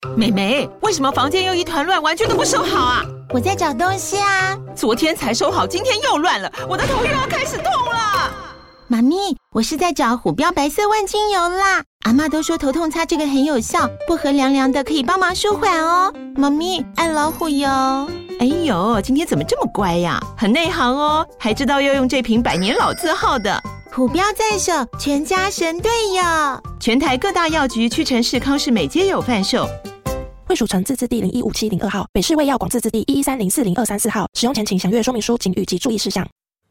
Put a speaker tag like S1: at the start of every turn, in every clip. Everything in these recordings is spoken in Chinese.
S1: 妹妹，為什麼房間又一團亂，完全都不收好啊？
S2: 我在找東西啊。
S1: 昨天才收好，今天又亂了，我的頭又要開始痛了。
S2: 媽咪，我是在找虎標白色萬金油啦。阿嬷都說頭痛擦這個很有效，薄荷涼涼的，可以幫忙舒緩哦。媽咪，愛老虎油。
S1: 哎呦，今天怎麼這麼乖呀？很內行哦，還知道要用這瓶百年老字號的。
S2: 虎標在手，全家神隊友。
S1: 全台各大藥局、屈臣氏、康是美皆有販售。
S3: 衛署成字字第0157002號，北市衛藥廣字字第113040234號。使用前請詳閱說明書、警語及注意事項。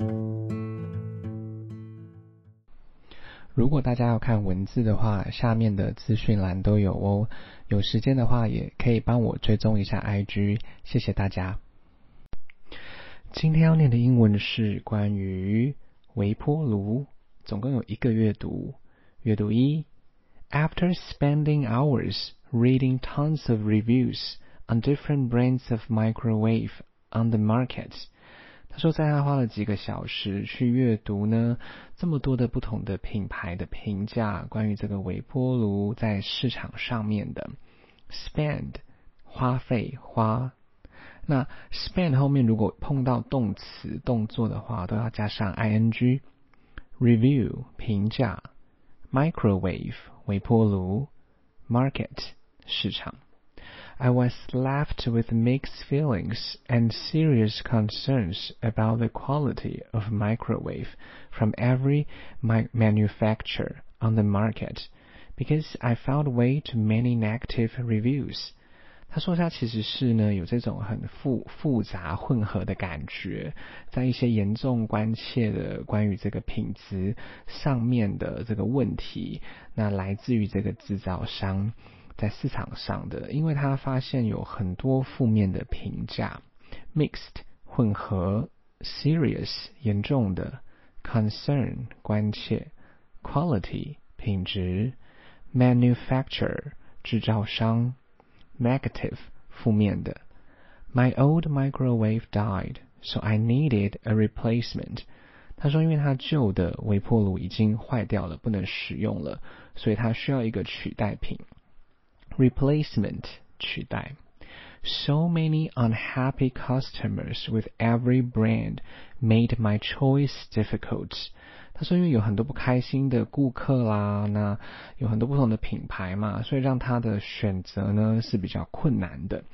S4: 如果大家要看文字的話，下面的資訊欄都有哦。有時間的話，也可以幫我追蹤一下 IG， 謝謝大家。今天要念的英文是關於微波爐，總共有一個閱讀。閱讀1 After spending hours reading tons of reviews on different brands of microwave on the market， 他說在他花了幾個小時去閱讀呢，這麼多的不同的品牌的評價，關於這個微波爐在市場上面的 spend 花費花。那 spend 後面如果碰到動詞動作的話，都要加上 ing。 Review 評價， Microwave 微波爐， Market 市場。 I was left with mixed feelings and serious concerns about the quality of microwave from every manufacturer on the market because I found way too many negative reviews。他說他其實是呢有這種很複雜混合的感覺，在一些嚴重關切的關於這個品質上面的這個問題，那來自於這個製造商在市場上的，因為他發現有很多負面的評價。 Mixed 混合， Serious 嚴重的， Concern 關切， Quality 品質， Manufacturer 製造商， Negative 負面的。 My old microwave died, so I needed a replacement。 他說因為他舊的微波爐已經壞掉了，不能使用了，所以他需要一個取代品。Replacement 取代。 So many unhappy customers with every brand made my choice difficult。 他說因為有很多不開心的顧客啦，那有很多不同的品牌嘛，所以讓他的選擇呢是比較困難的。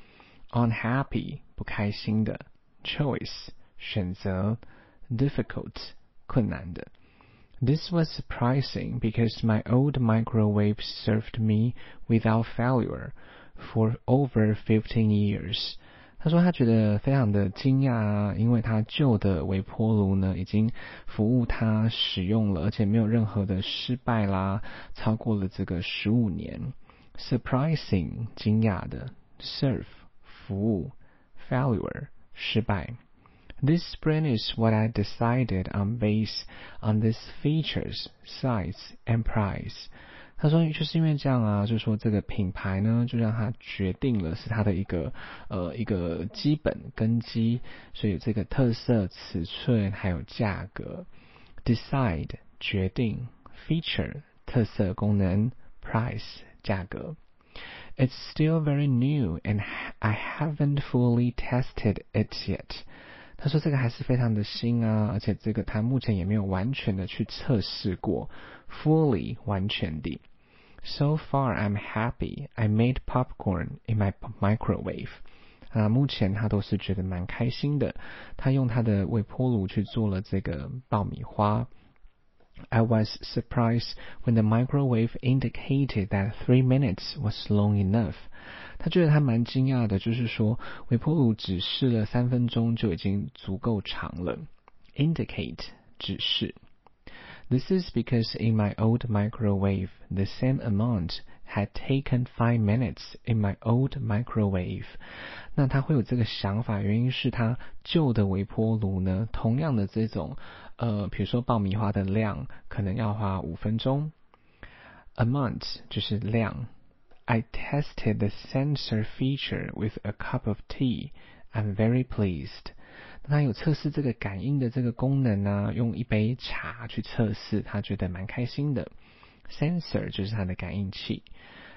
S4: Unhappy 不開心的， Choice 選擇， Difficult 困難的。This was surprising because my old microwave served me without failure for over 15 years。 他說他覺得非常的驚訝啊，因為他舊的微波爐呢已經服務他使用了，而且沒有任何的失敗啦，超過了這個15年。Surprising 驚訝的， Serve 服務， Failure 失敗。This brand is what I decided on based on these features, size, and price。 他說就是因為這樣啊，就是說這個品牌呢就讓他決定了是他的一個基本根基，所以有這個特色、尺寸還有價格。Decide 決定， Feature 特色功能， Price 價格。It's still very new and I haven't fully tested it yet。他說這個還是非常的新啊，而且這個他目前也沒有完全的去測試過。Fully 完全的。So far I'm happy I made popcorn in my microwave。 目前他都是覺得蠻開心的，他用他的微波爐去做了這個爆米花。I was surprised when the microwave indicated that 3 minutes was long enough。 他覺得他蠻驚訝的，就是說微波爐指示了3分鐘就已經足夠長了。Indicate 指示。This is because in my old microwave, the same amount had taken 5 minutes in my old microwave。 那他会有這個想法，原因是他舊的微波爐呢，同樣的這種比如說爆米花的量可能要花5分鐘。Amount 就是量。I tested the sensor feature with a cup of tea. I'm very pleased。 他有測試這個感應的這個功能啊，用一杯茶去測試，他覺得蠻開心的。Sensor 就是它的感應器。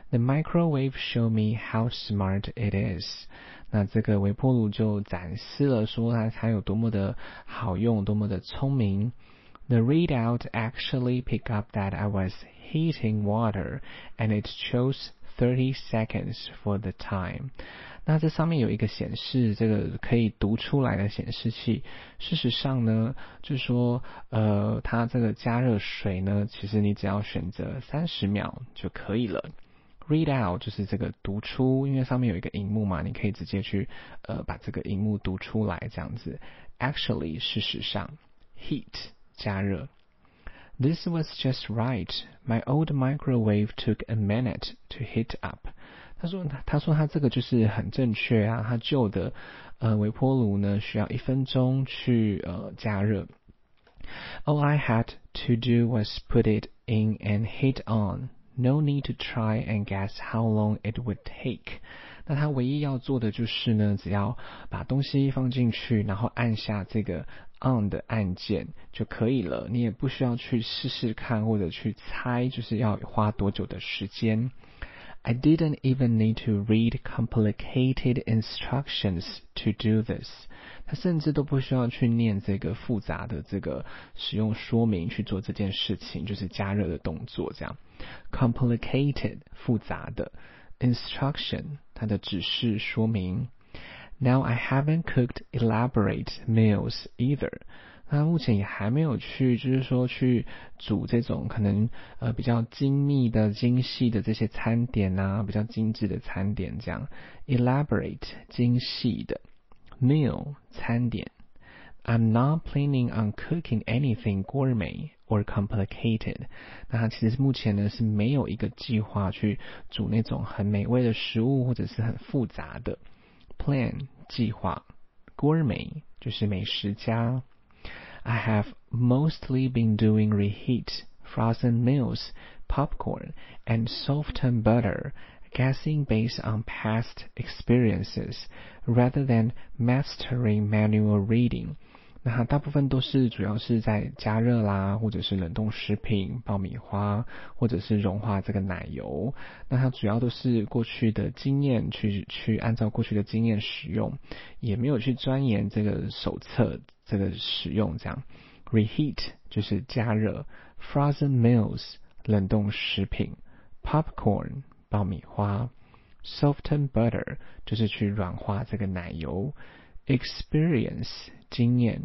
S4: The microwave showed me how smart it is. 那這個微波爐就展示了說它有多麼的好用，多麼的聰明。The readout actually picked up that I was heating water, and it chose 30 seconds for the time. 那這上面有一個顯示，這個可以讀出來的顯示器。事實上呢，就是說，它這個加熱水呢，其實你只要選擇30秒就可以了。Read out 就是這個讀出，因為上面有一個熒幕嘛，你可以直接去把這個熒幕讀出來，這樣子。Actually 事實上 ，heat 加熱。This was just right. My old microwave took a minute to heat up. 他說他這個就是很正確啊，他舊的微波爐呢需要1分鐘去加熱。All I had to do was put it in and heat on. No need to try and guess how long it would take. 那他唯一要做的就是呢，只要把東西放進去，然後按下這個 on 的按鍵就可以了。你也不需要去試試看或者去猜，就是要花多久的時間。I didn't even need to read complicated instructions to do this. 他甚至都不需要去念這個複雜的這個使用說明去做這件事情，就是加熱的動作這樣。Complicated 複雜的 instruction 它的指示說明。Now I haven't cooked elaborate meals either. 那目前也還沒有去，就是說去煮這種可能比較精密的、精細的這些餐點啊，比較精緻的餐點這樣。Elaborate 精細的 meal 餐點。I'm not planning on cooking anything gourmet or complicated. 那他其實目前呢是沒有一個計劃去煮那種很美味的食物或者是很複雜的。Plan 計劃 gourmet 就是美食家。I have mostly been doing reheat, frozen meals, popcorn, and softened butter, guessing based on past experiences, rather than mastering manual reading. 那它大部分都是主要是在加熱啦，或者是冷凍食品、爆米花，或者是融化這個奶油。那它主要都是過去的經驗去按照過去的經驗使用，也沒有去鑽研這個手冊這個使用這樣。Reheat 就是加熱 ，frozen meals 冷凍食品 ，popcorn 爆米花 ，softened butter 就是去軟化這個奶油。Experience 經驗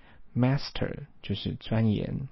S4: Master 就是鑽研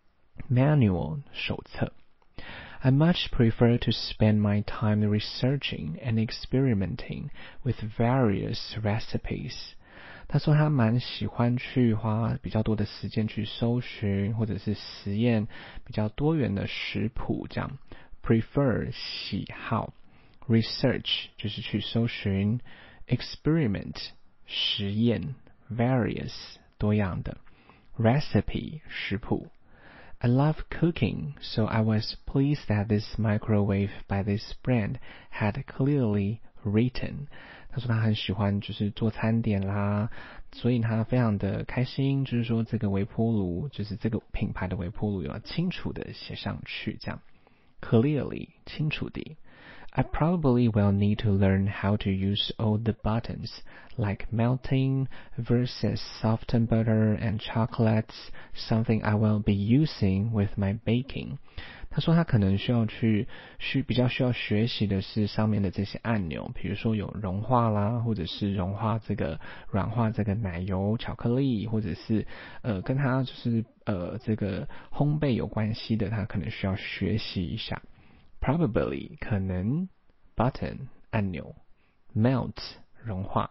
S4: Manual 手冊 I much prefer to spend my time researching and experimenting with various recipes. 他說他蠻喜歡去花比較多的時間去搜尋或者是實驗比較多元的食譜這樣。Prefer 喜好 Research 就是去搜尋 Experiment實驗 various 多樣的 recipe 食譜 I love cooking, so I was pleased that this microwave by this brand had clearly written. 他說他很喜歡就是做餐點啦，所以他非常的開心，就是說這個微波爐就是這個品牌的微波爐要清楚的寫上去這樣 clearly 清楚的I probably will need to learn how to use all the buttons, like melting versus softened butter and chocolates, something I will be using with my baking. 他說他可能比較需要學習的是上面的這些按鈕，比如說有融化啦，或者是融化這個軟化這個奶油、巧克力，或者是跟他就是這個烘焙有關係的，他可能需要學習一下。Probably 可能 button 按鈕 melt 融化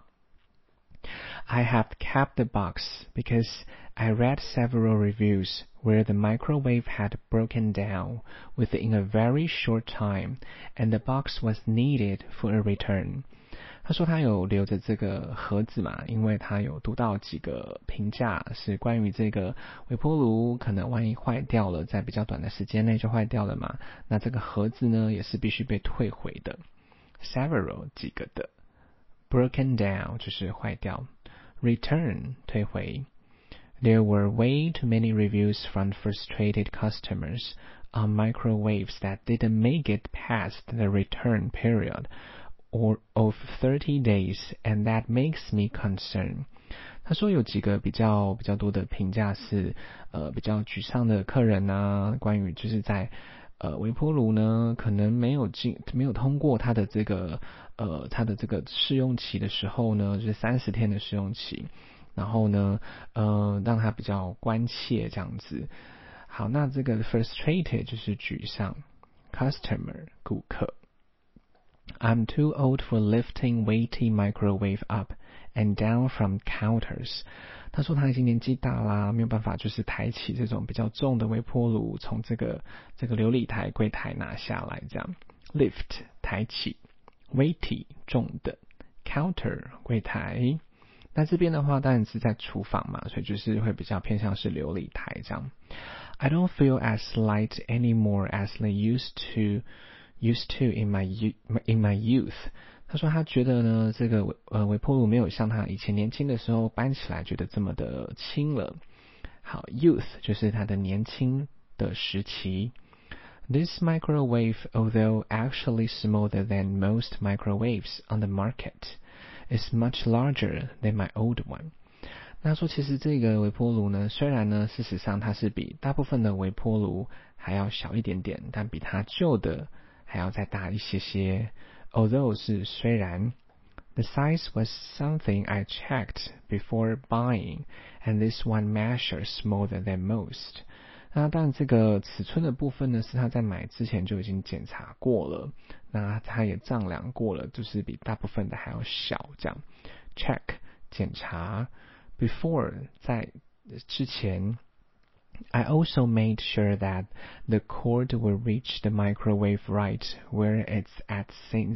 S4: I have kept the box because I read several reviews where the microwave had broken down within a very short time and the box was needed for a return. 他說他有留着這個盒子嘛，因為他有讀到幾個評價是關於這個微波爐可能萬一壞掉了，在比較短的時間內就壞掉了嘛，那這個盒子呢也是必須被退回的。Several 幾個的 broken down 就是壞掉 return 退回。There were way too many reviews from frustrated customers, on microwaves that didn't make it past the return period of 30 days, and that makes me concerned.他說有幾個比較多的評價是比較沮喪的客人啊，關於就是在微波爐呢可能沒有通過他的這個試用期的時候呢，就是30天的試用期，然後呢讓他比較關切這樣子。好，那這個 frustrated 就是沮喪 ，customer 顧客。I'm too old for lifting weighty microwave up and down from counters. 他說他已經年紀大啦，沒有辦法就是抬起這種比較重的微波爐，從這個流理台櫃台拿下來這樣。Lift 抬起 ，weighty 重的 ，counter 櫃台。那這邊的話當然是在廚房嘛，所以就是會比較偏向是流理台這樣。I don't feel as light anymore as they used to in my youth. 他說他覺得呢，這個微波爐沒有像他以前年輕的時候搬起來覺得這麼的輕了。好 ，youth 就是他的年輕的時期。This microwave, although actually smaller than most microwaves on the market, is much larger than my old one. 那說其實這個微波爐呢，雖然呢事實上它是比大部分的微波爐還要小一點點，但比它舊的還要再大一些些。Although 是雖然 the size was something I checked before buying, and this one measures smaller than most. 那但這個尺寸的部分呢，是他在買之前就已經檢查過了，那他也丈量過了，就是比大部分的還要小這樣。Check 檢查 before 在之前。I also made sure that the cord will reach the microwave right where it's at, since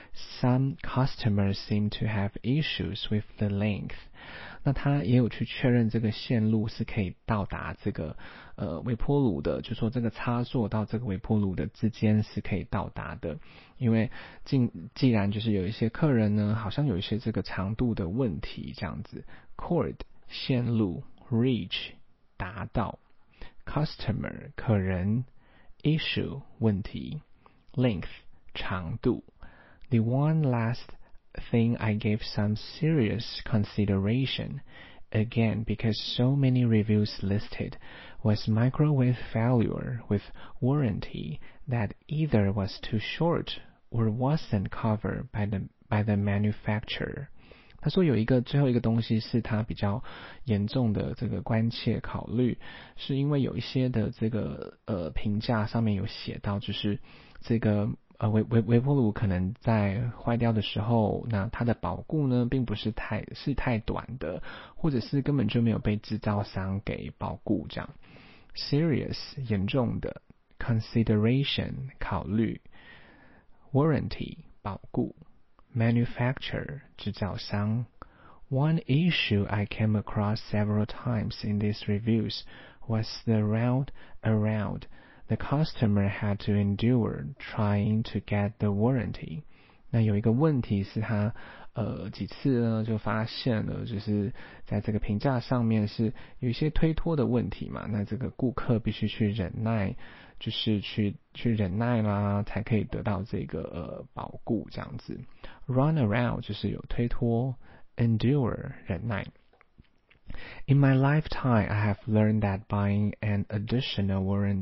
S4: some customers seem to have issues with the length. 那他也有去確認這個線路是可以到達這個微波爐的，就說這個插座到這個微波爐的之間是可以到達的。因為既然就是有一些客人呢，好像有一些這個長度的問題這樣子。Cord 線路 reach 達到。Customer 客人 issue 問題 length 長度。The one last thing I gave some serious consideration, again because so many reviews listed, was microwave failure with warranty that either was too short or wasn't covered by the manufacturer. 他說有最後一個東西是他比較嚴重的這個關切考慮，是因為有一些的這個評價上面有寫到，就是這個微波爐可能在壞掉的時候，那它的保固呢並不是太短的，或者是根本就沒有被製造商給保固這樣。Serious 嚴重的 consideration 考慮 warranty 保固Manufacturer 製造商。One issue I came across several times in these reviews was the round around the customer had to endure trying to get the warranty. 那有一個問題是他幾次呢就發現了，就是在這個評價上面是有一些推脫的問題嘛，那這個顧客必須去忍耐，就是去忍耐啦，才可以得到這個保固這樣子。Run around 就是有推脫 endure 忍耐。In my lifetime, I have learned that buying an additional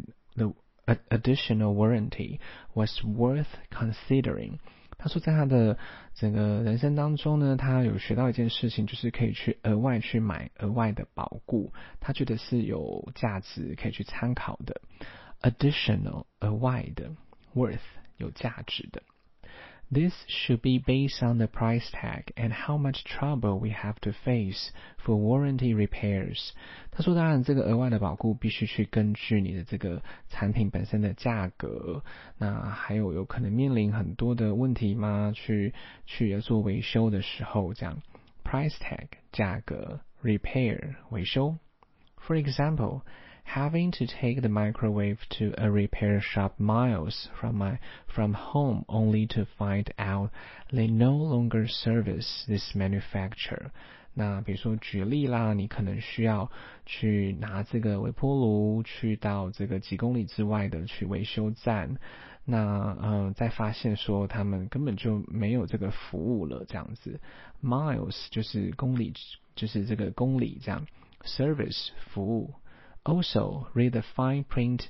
S4: warranty was worth considering. 他說在他的整個人生當中呢，他有學到一件事情，就是可以去額外去買額外的保固，他覺得是有價值可以去參考的。Additional 額外的 worth 有價值的。This should be based on the price tag and how much trouble we have to face for warranty repairs. 他說当然這個額外的保固必須去根據你的這個產品本身的價格，那還有可能面臨很多的問題嗎？去做維修的時候這樣。Price tag 價格 repair 維修。For example, having to take the microwave to a repair shop miles from home only to find out they no longer service this manufacturer. 那比如說舉例啦，你可能需要去拿這個微波爐去到這個幾公里之外的去維修站，那再發現說他們根本就沒有這個服務了，這樣子。Miles 就是公里，就是這個公里這樣。Service 服務。Also read the fine print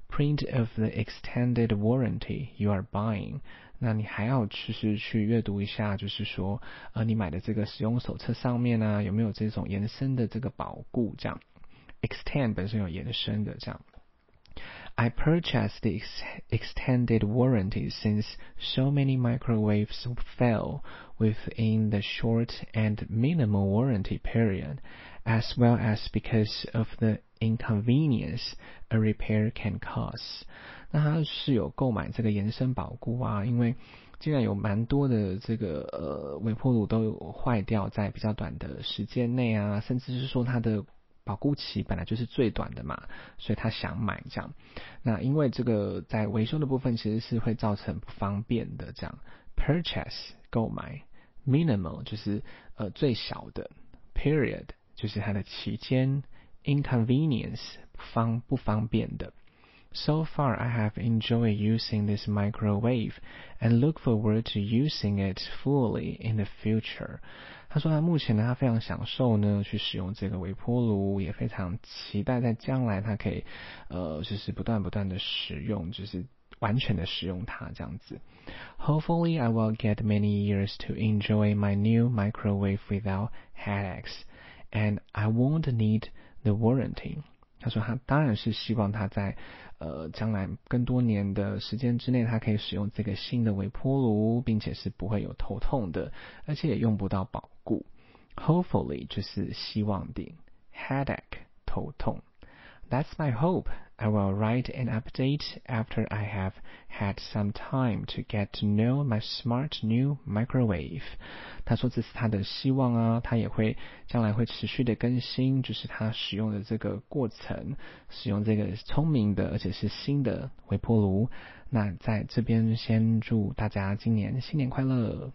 S4: of the extended warranty you are buying。那你還要就是去閱讀一下，就是說你買的這個使用手冊上面呢，有沒有這種延伸的這個保固這樣。Extend 本身有延伸的這樣。I purchased the extended warranty since so many microwaves fail within the short and minimal warranty period, as well as because of the inconvenience a repair can cause. 那他是有購買这個延伸保固啊，因為既然有蠻多的這個微波爐都有壞掉在比較短的時間內啊，甚至是說它的保固期本來就是最短的嘛，所以他想買這樣。那因為這個在維修的部分其實是會造成不方便的這樣。Purchase 購買 ，minimal 就是最小的 ，period 就是它的期間 ，inconvenience 不方便的。So far, I have enjoyed using this microwave and look forward to using it fully in the future. 他說他目前呢，他非常享受呢去使用這個微波爐，也非常期待在將來他可以就是不斷的使用，就是完全的使用它這樣子。Hopefully, I will get many years to enjoy my new microwave without headaches, and I won't need the warranty. 他說他當然是希望他在將來更多年的時間之內，他可以使用這個新的微波爐，並且是不會有頭痛的，而且也用不到保固。Hopefully 就是希望的 ，headache 頭痛。That's my hope. I will write an update after I have had some time to get to know my smart new microwave. 他說這是他的希望啊，他也會將來會持續的更新，就是他使用的這個過程，使用這個聰明的而且是新的微波爐。那在這邊先祝大家今年新年快樂。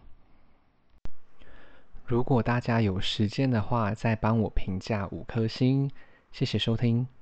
S4: 如果大家有時間的話，再幫我評價5顆星，謝謝收聽。